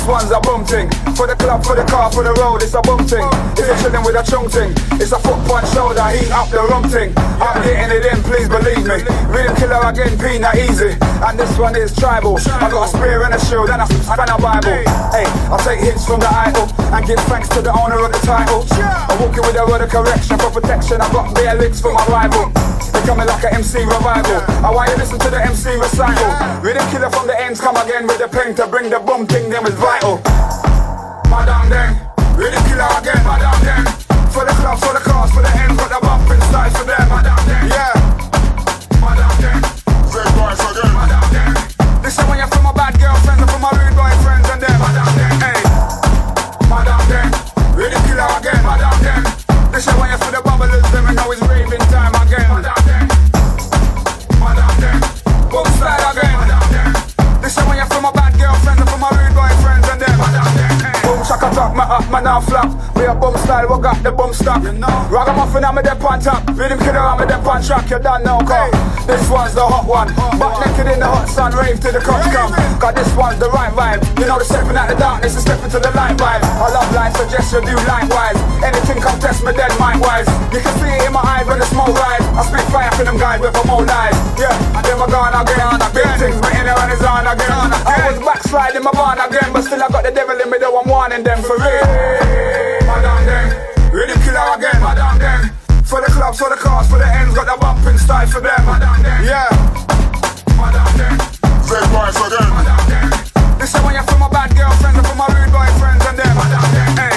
this one's a bum thing. For the club, for the car, for the road, it's a bum thing. If you're chilling with a chung thing, it's a foot punch shoulder, heat up the rum thing. I'm getting it in, please believe me. Rhythm killer again, peanut easy. And this one is tribal. I got a spear and a shield and a spanner Bible. Hey, I'll take hits from the idol and give thanks to the owner of the title. I'm walking with a word of correction for protection. I got bare licks for my rival. They coming like an MC revival. I want you to listen to the MC recital. Rhythm killer from the ends, come again with the pen to bring the boom thing, them is vital. Madam then, rhythm killer again, madam then. For the club, for the cars, for the ends, got the bumping style for them, madam then. Yeah, madam then. Red boys again, madam then. Listen when you're from my bad girlfriends and from my rude boyfriends and them, madam then. Hey, madam then, rhythm killer again, madam then. Listen when you're for the bubblers, them and know it's raving time again, madam then. Madam then, boom style again, madam then. Listen when you're from my bad girlfriends and from my rude boyfriends and them, madam then. Boom shaka talk, my up, man now flop. We a boom style, we got the boom stock. You know, ragamuffin, I'm a dep on top. Rhythm killer, I'm a dep on track. You don't know, cause this one's the hot one. Butt naked in the hot sun, rave till the cops come. Cause this one's the right vibe. You know the stepping out the darkness and stepping to the light vibe. I love life, suggest you do likewise. Anything come test me dead mind-wise. You can see it in my eyes when the smoke rise. I spit fire for them guys with more lies. Yeah, and then we're gone again. Big things, my inner and is on again. I was backsliding my barn again, but still I got the devil in me though I'm warning them for real. Madam them, rhythm killer again, madam them. For the clubs, for the cars, for the ends, got the bumping style for them, madam them. Yeah, madam them. Red boys again, madam them. Listen when you're from my bad girlfriends and from my rude boyfriends and them, madam them. Hey,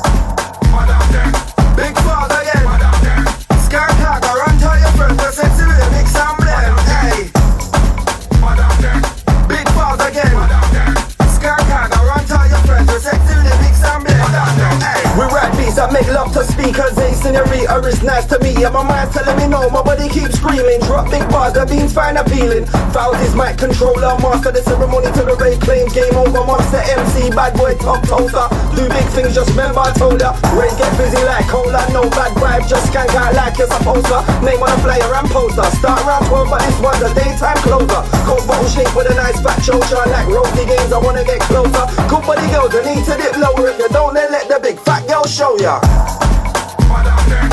madam them. Big father again, madam them. Scar Cargo, run tell your friends, the sexy with a big sound blend. Hey, madam them. Big father again, madam them. Scar Cargo, run tell your friends, the sexy with a big sound blend. Hey, we rap beats that make love to speakers. Hey, senorita is nice to me. And my mind's telling me no, my body keeps screaming. Drop big bars, the beans find appealing. Fouls is mic controller, master the ceremony to the Ray claims. Game over, monster MC, bad boy top toaster. Do big things, just remember I told ya. Ray get busy like cola, no bad vibe, just skank out like you're supposed to. Name on a flyer and poster. Start around 12, but this one's a daytime closer. Cold bottle shape with a nice fat choker. Like ropey games, I wanna get closer. Good body girls, I need to dip lower. If you don't, then let the big fat girl show ya. Madam them.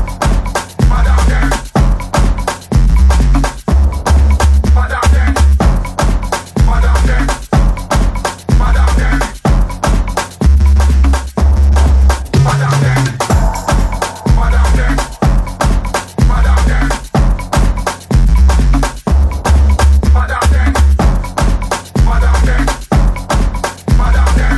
Madam them. Madam them. Madam them. Madam them. Madam them. Madam them. Madam them. Madam them. Madam them. Madam them.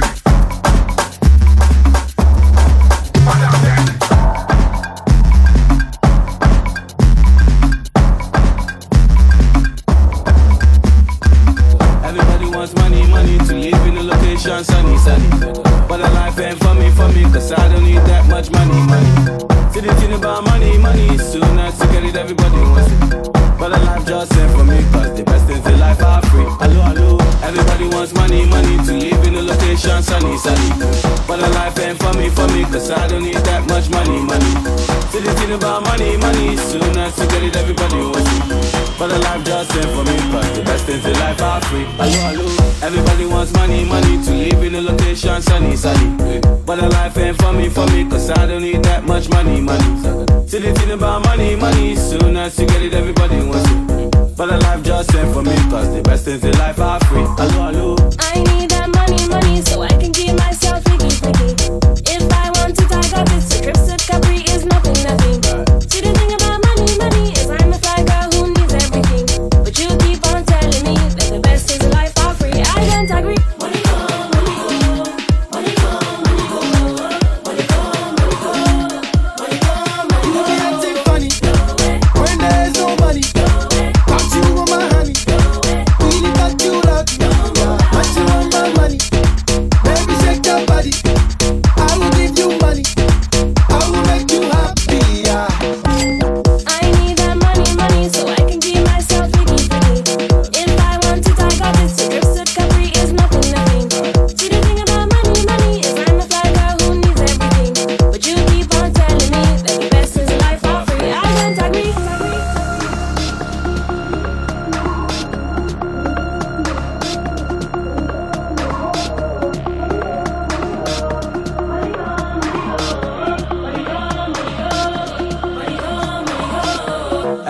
Everybody wants money, money to live in a location sunny, sunny. But the life ain't for me, cause I don't need that much money, money. See the thing about money, money, soon as you get it, everybody wants it. But the life just ain't for me, cause the best things in life are free. Hello, hello. Everybody wants money, money to live in a location sunny, sunny. But the life ain't for me, cause I don't need that much money, money. See the thing about money, money, soon as you get it, everybody wants it. But the life just ain't for me, cause the best things in life are free. Hello, hello. Everybody wants money, money to live in a location sunny, sunny. But the life ain't for me, cause I don't need that much money, money. See the thing about money, money, soon as you get it, everybody wants it. But the life just ain't for me, cause the best things in life are free. Hello, hello. I need that money, money, so I can keep myself freaky, freaky. If I want to talk of this, a trip to Capri is nothing, nothing. See the thing about money, money, is I'm a fly girl who needs everything. But you keep on telling me that the best things in life are free. I don't agree. Money go, money go, money go, money go, money go, money go, money go, money go. You acting funny when there's no money. Got you on my honey, really got you lucky. But you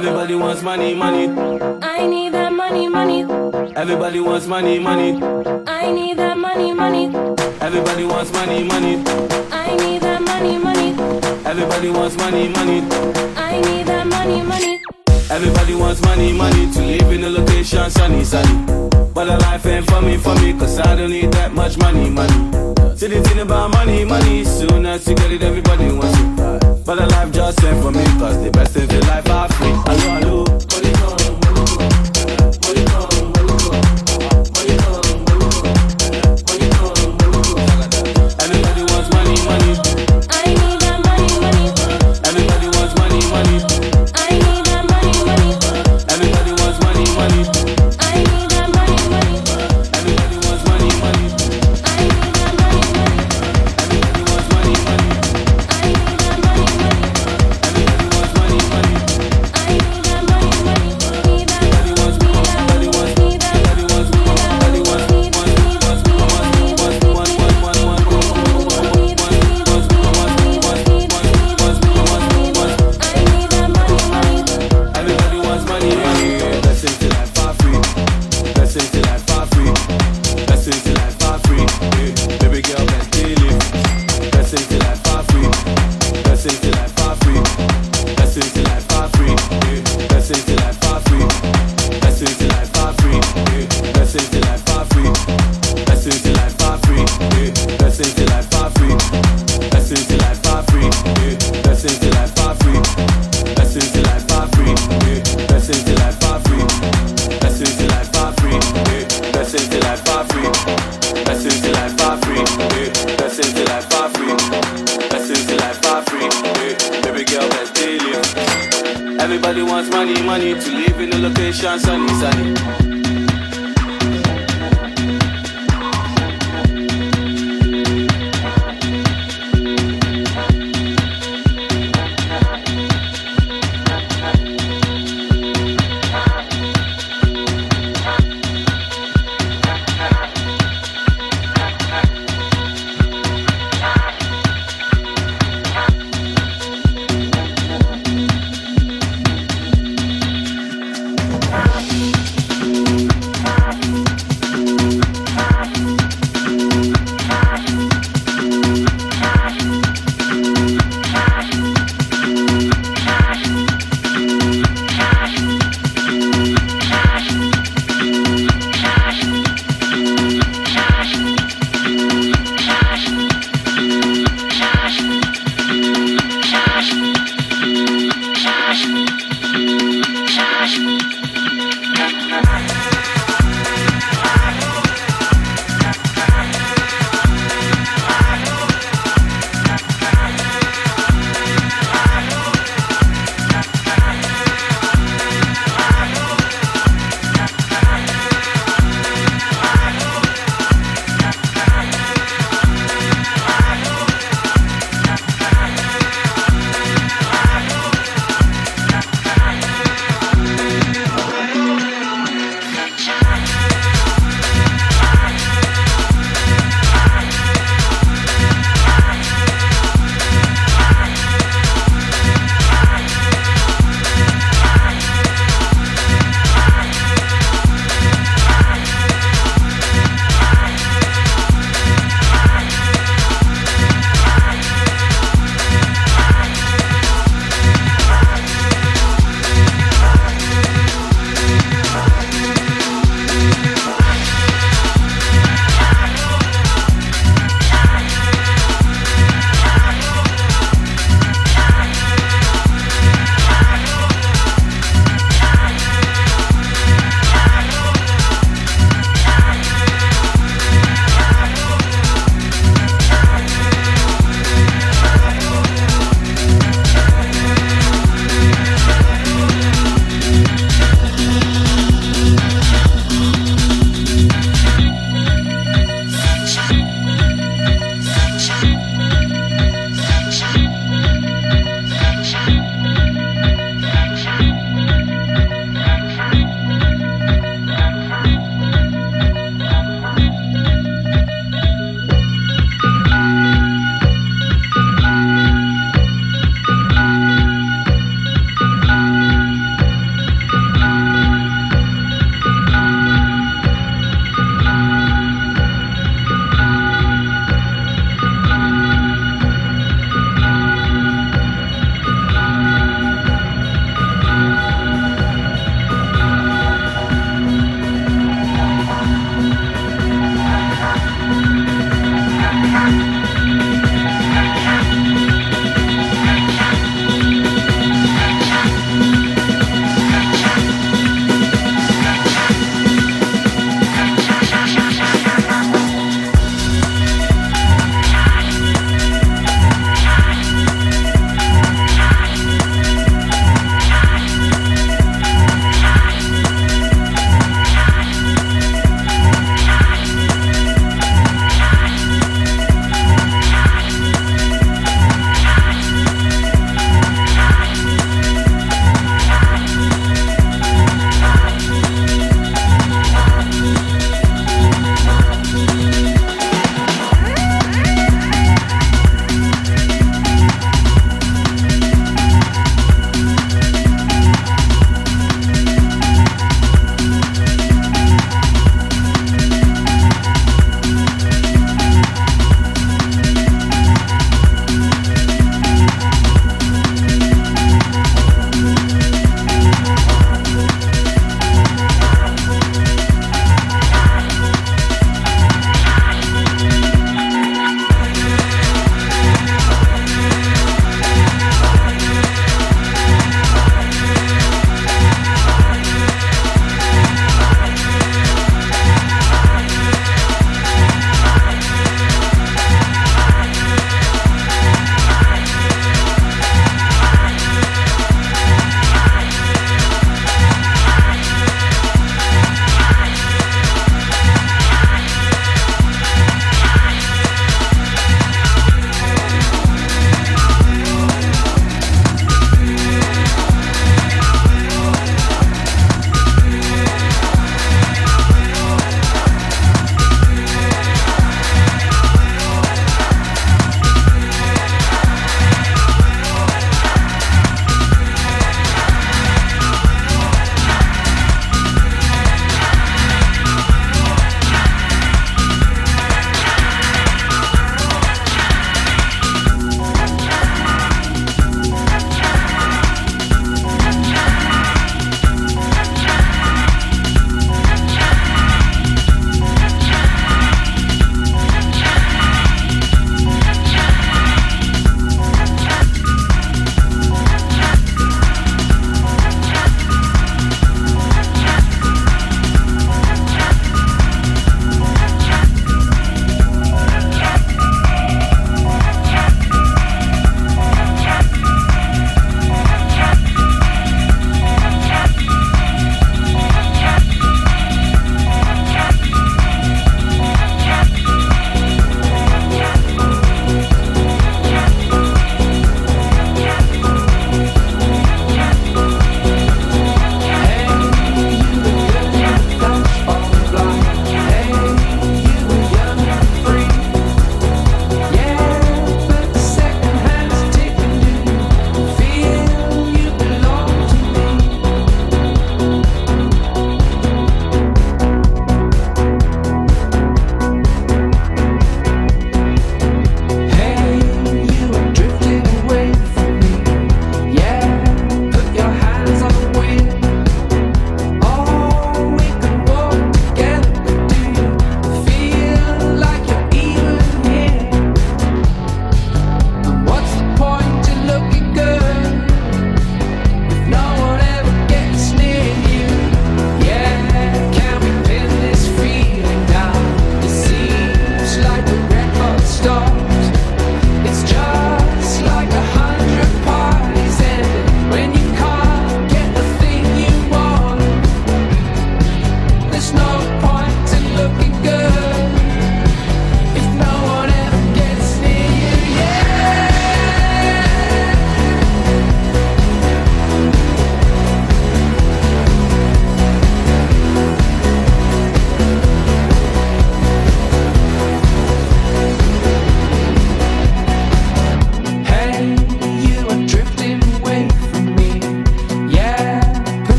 Everybody wants money, money. I need that money, money. Everybody wants money, money. I need that money, money. Everybody wants money, money. I need that money, money. Everybody wants money, money. I need that money, money. Everybody wants money, money to live in a location sunny, sunny. But the life ain't for me, cause I don't need that much money, money. See the thing about money, money, soon as you get it, everybody wants it. But the life just ain't for me, cause the best things in life are free. Hello, hello. Money come, money go. Money come, money go. Money come, money go. Money come, money go. Everybody wants money, money. I need that money, money. Everybody wants money, money. I need that money, money. Everybody wants money, money. I need that money, money. Everybody wants money, money. I need that money, money. Everybody wants money, money. I need that money, money. Everybody wants money, money. I need that money, money. Need that, Everybody wants, need that, everybody wants, need that, everybody wants, everybody wants, everybody wants money, money. Blessings till life are free. Blessings till life are free. Blessings till life are free. Baby girl, best daily. Blessings till life are free. Blessings till life are free. Blessings till life are free. Blessings till life are free. Blessings till life are free. Blessings till life are free. Blessings till life are free. Blessings till life are free. Blessings till life are free. Blessings till life are free. Blessings till life are free. Blessings till life are free. Blessings till life are free. Blessings till life are free. Blessings till life are free. Blessings till life are free. Blessings till life are free. Baby girl, best daily. Everybody wants money, money to live in a location sunny, sunny.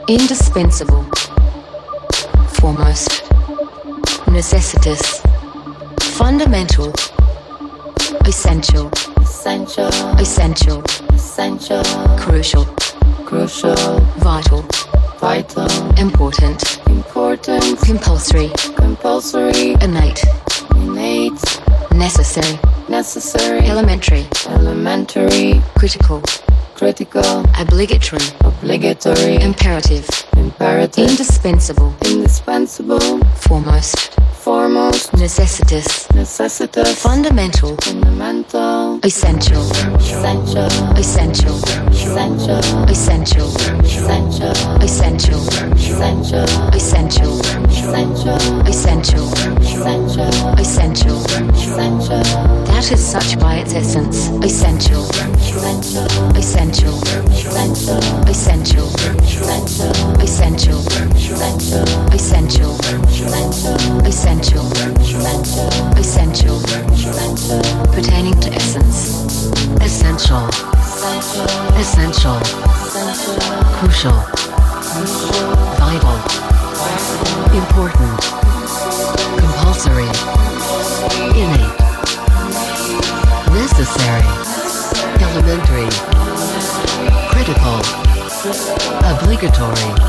indispensable, foremost, necessitous, fundamental, essential, essential, crucial, vital, important, compulsory, innate, necessary, elementary, critical, obligatory, imperative, indispensable, foremost, necessitous, fundamental, essential, essential, essential, essential, essential. That is such by its essence, essential, essential, essential, essential, essential, essential, essential, pertaining to essence, essential, essential, crucial, vital, important, compulsory, innate, necessary, elementary, critical, obligatory,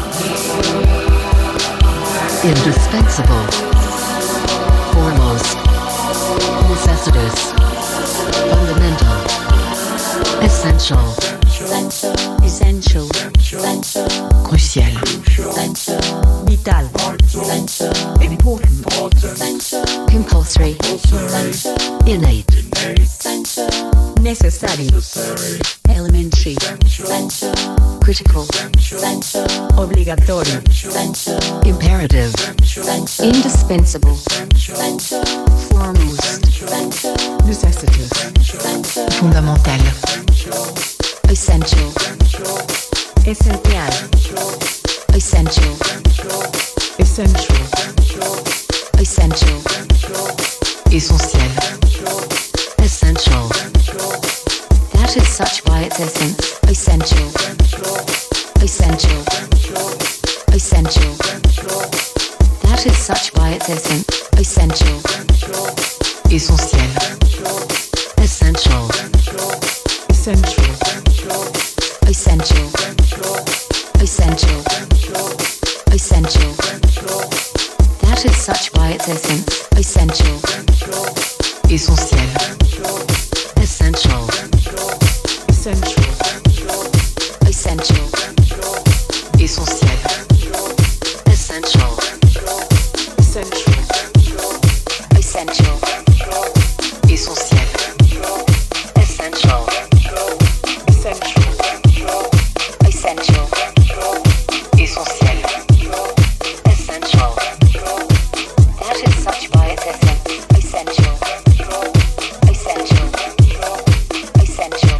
indispensable, foremost, necessitous, fundamental, essential, essential, crucial, vital, important, compulsory, innate, necessary, elementary, critical, obligatory, imperative, indispensable, foremost, necessitous, fondamental, essential, essential, essential, essential, essential, essentiel, essential. That is such by its essence, essential, essential, essential. That is such by its essence, essential, essentiel, essential, essential, essential, essential, essential. That is such by its essence, essential, essentiel, essential, essential, essential, essentiel, essential, essential, essential, essentiel, essential, essential, essential, essentiel, essential. That is such by its essence, essential, essential, essential.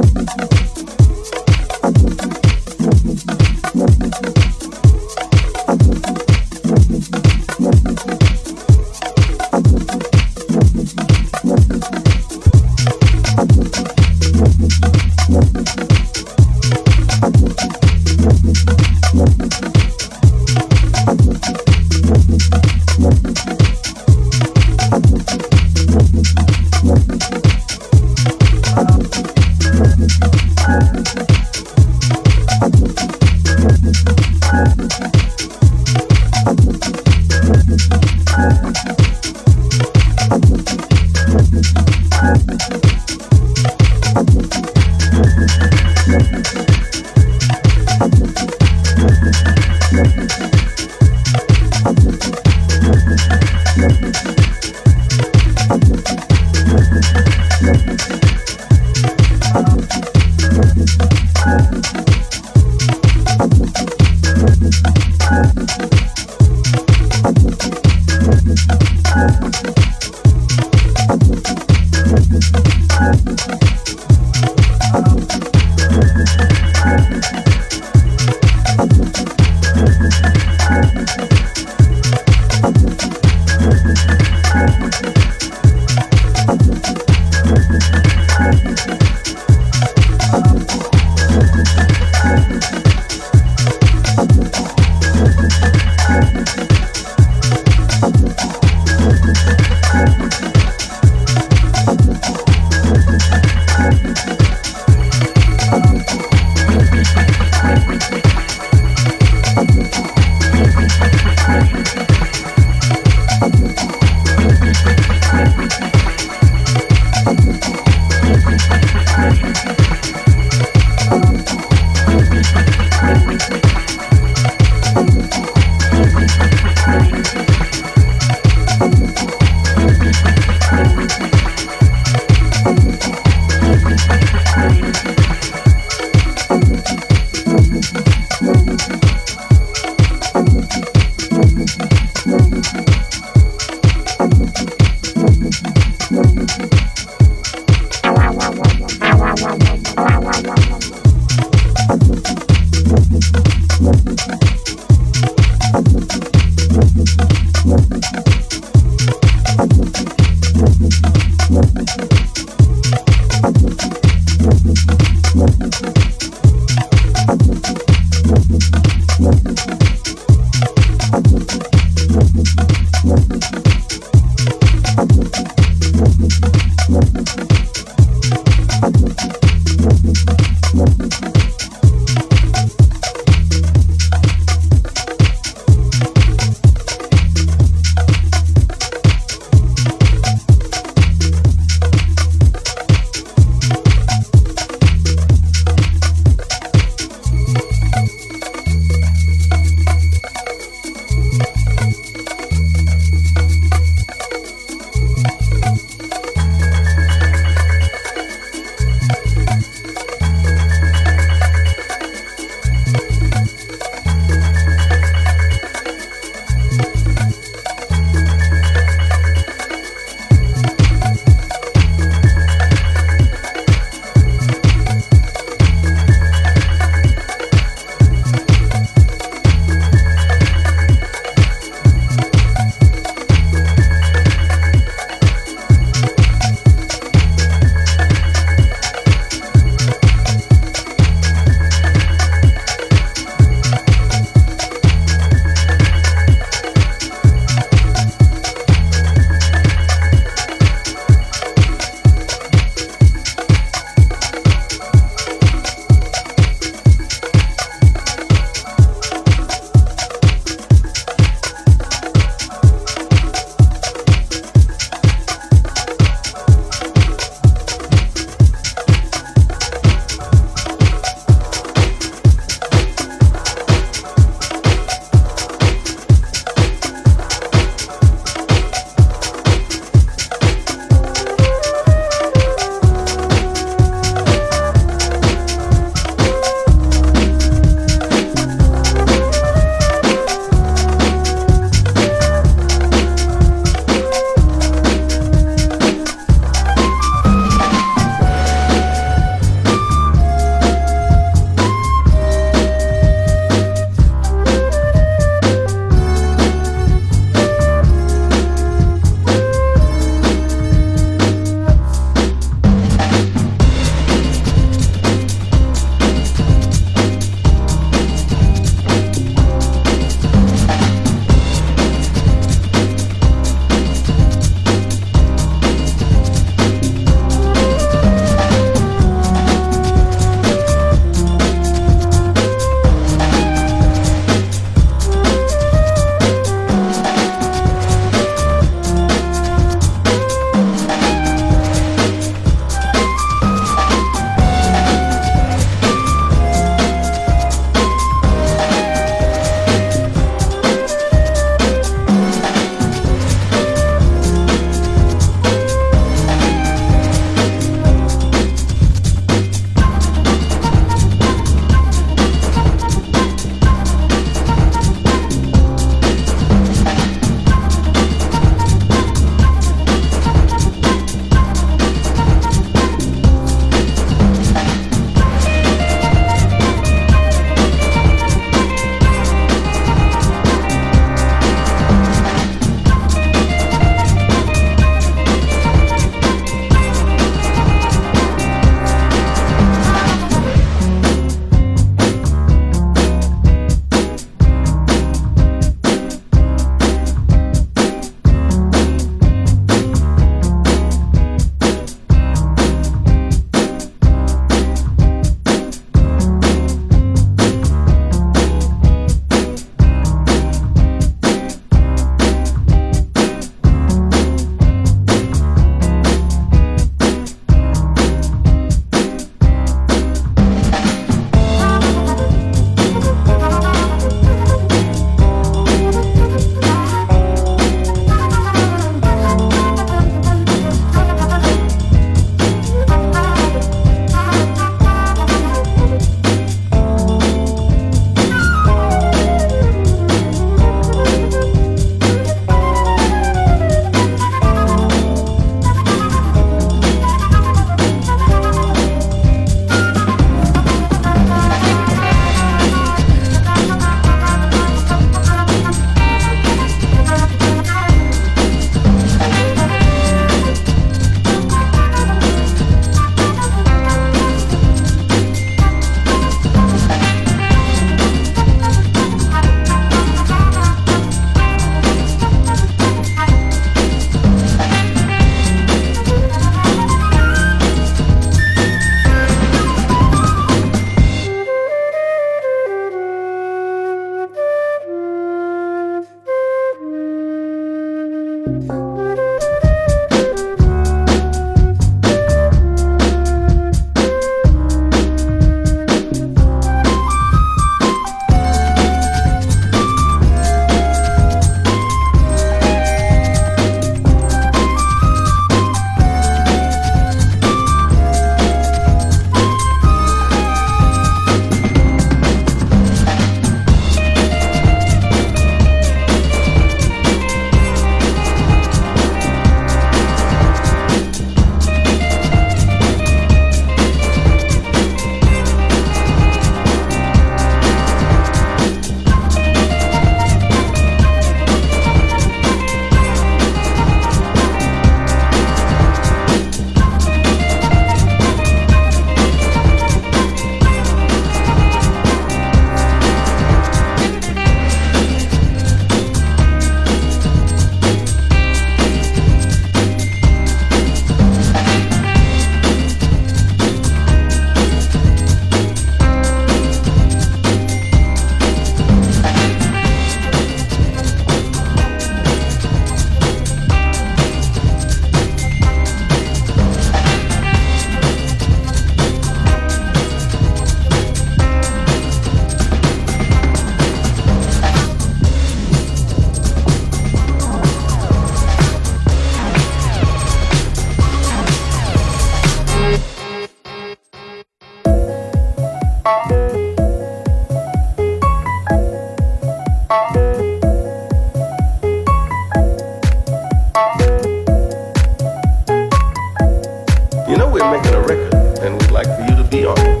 You know we're making a record, and we'd like for you to be on it.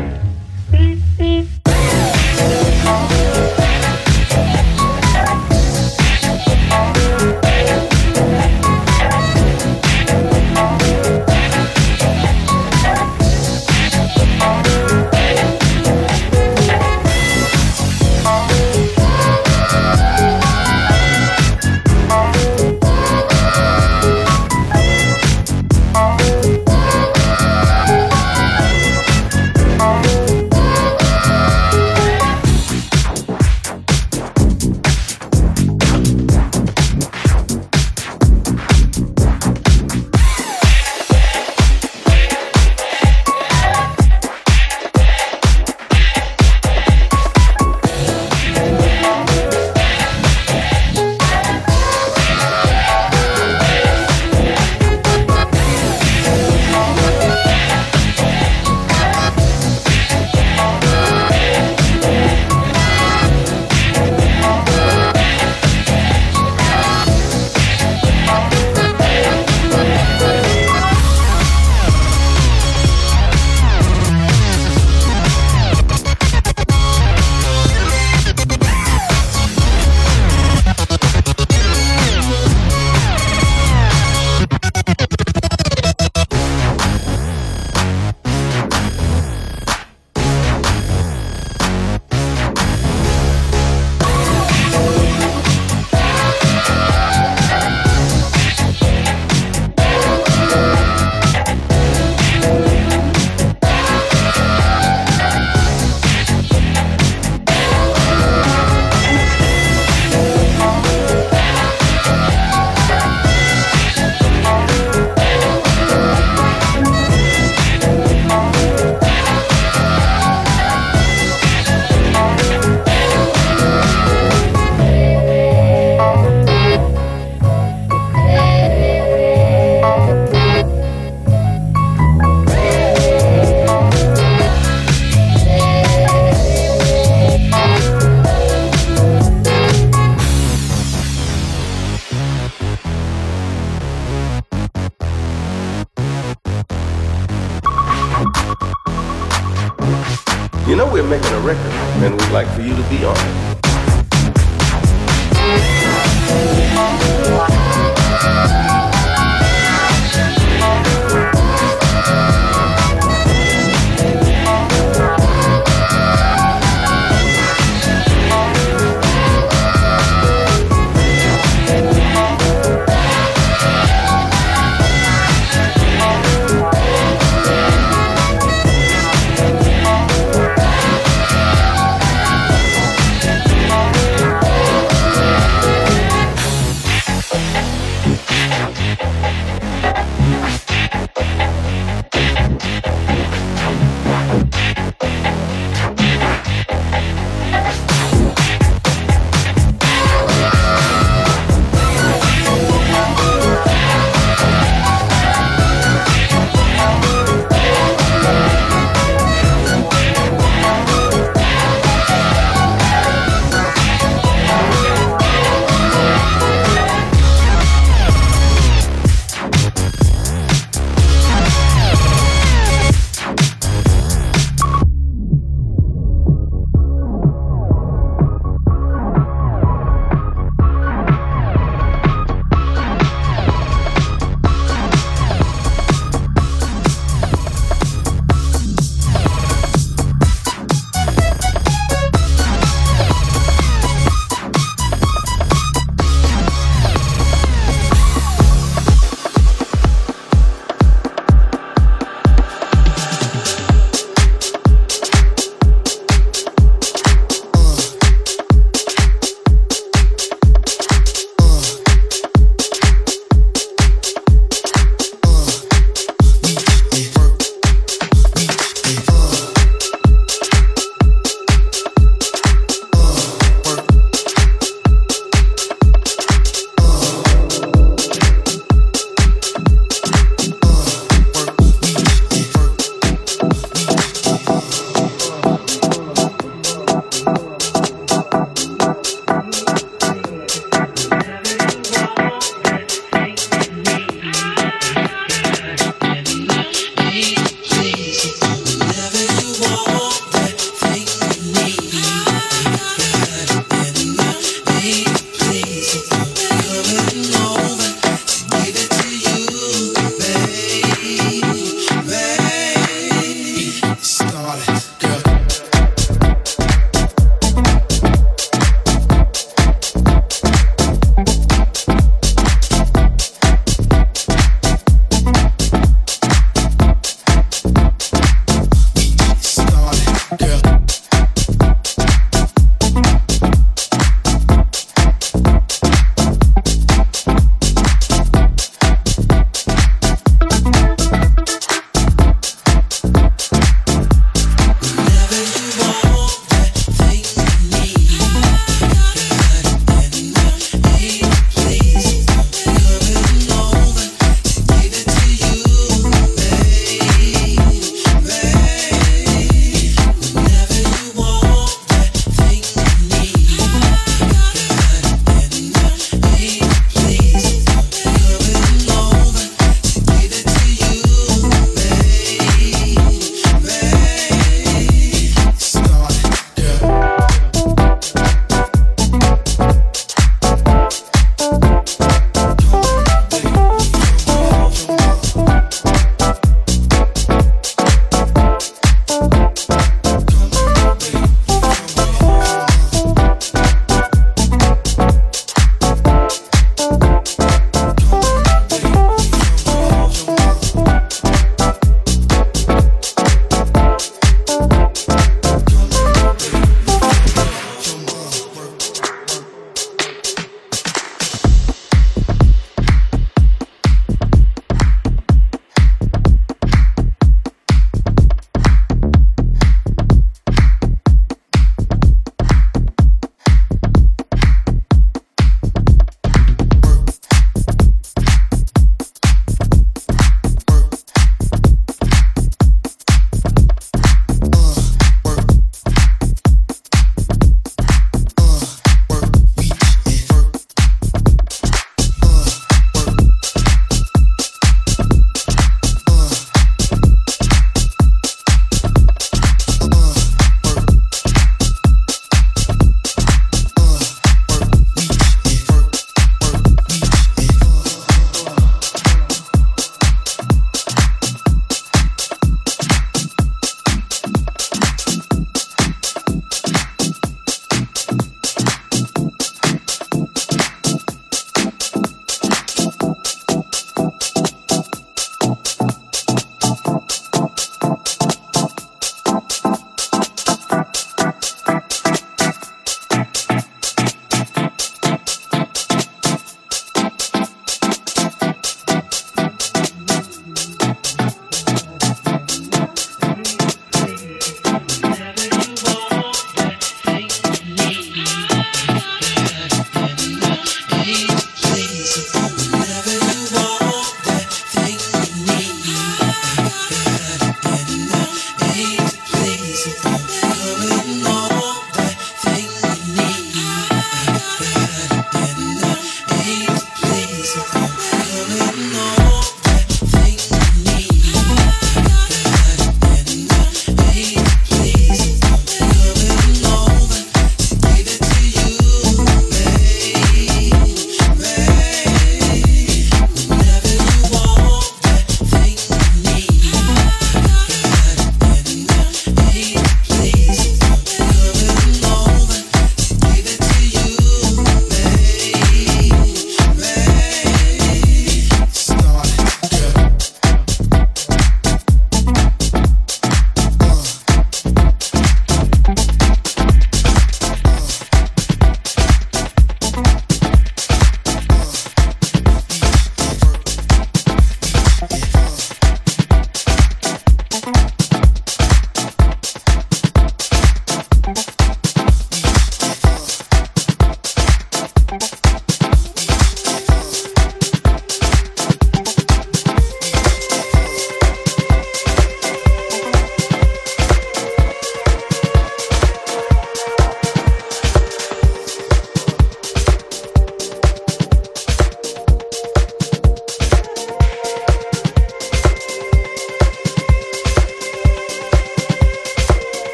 You know we're making a record, and we'd like for you to be on it.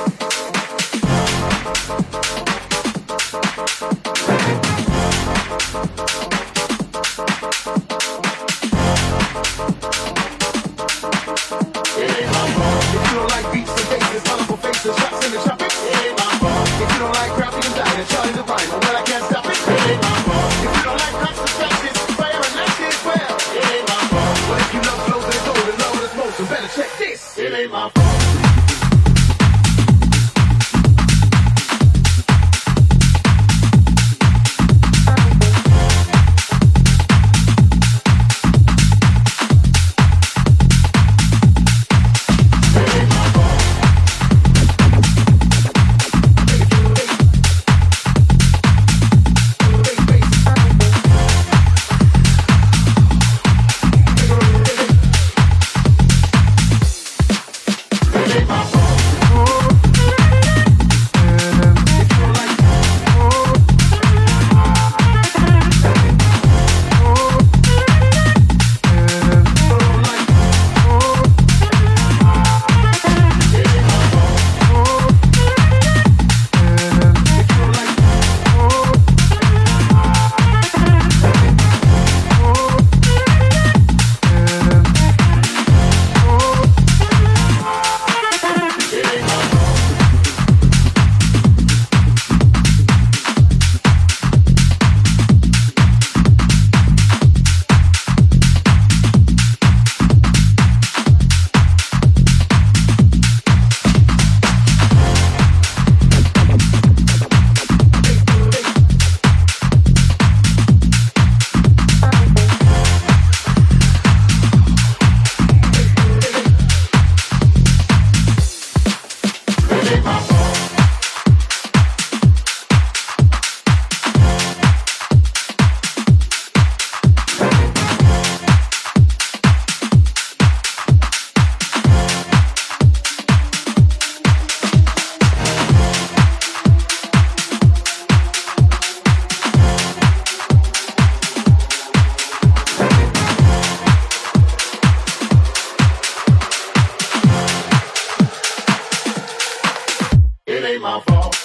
It ain't my fault.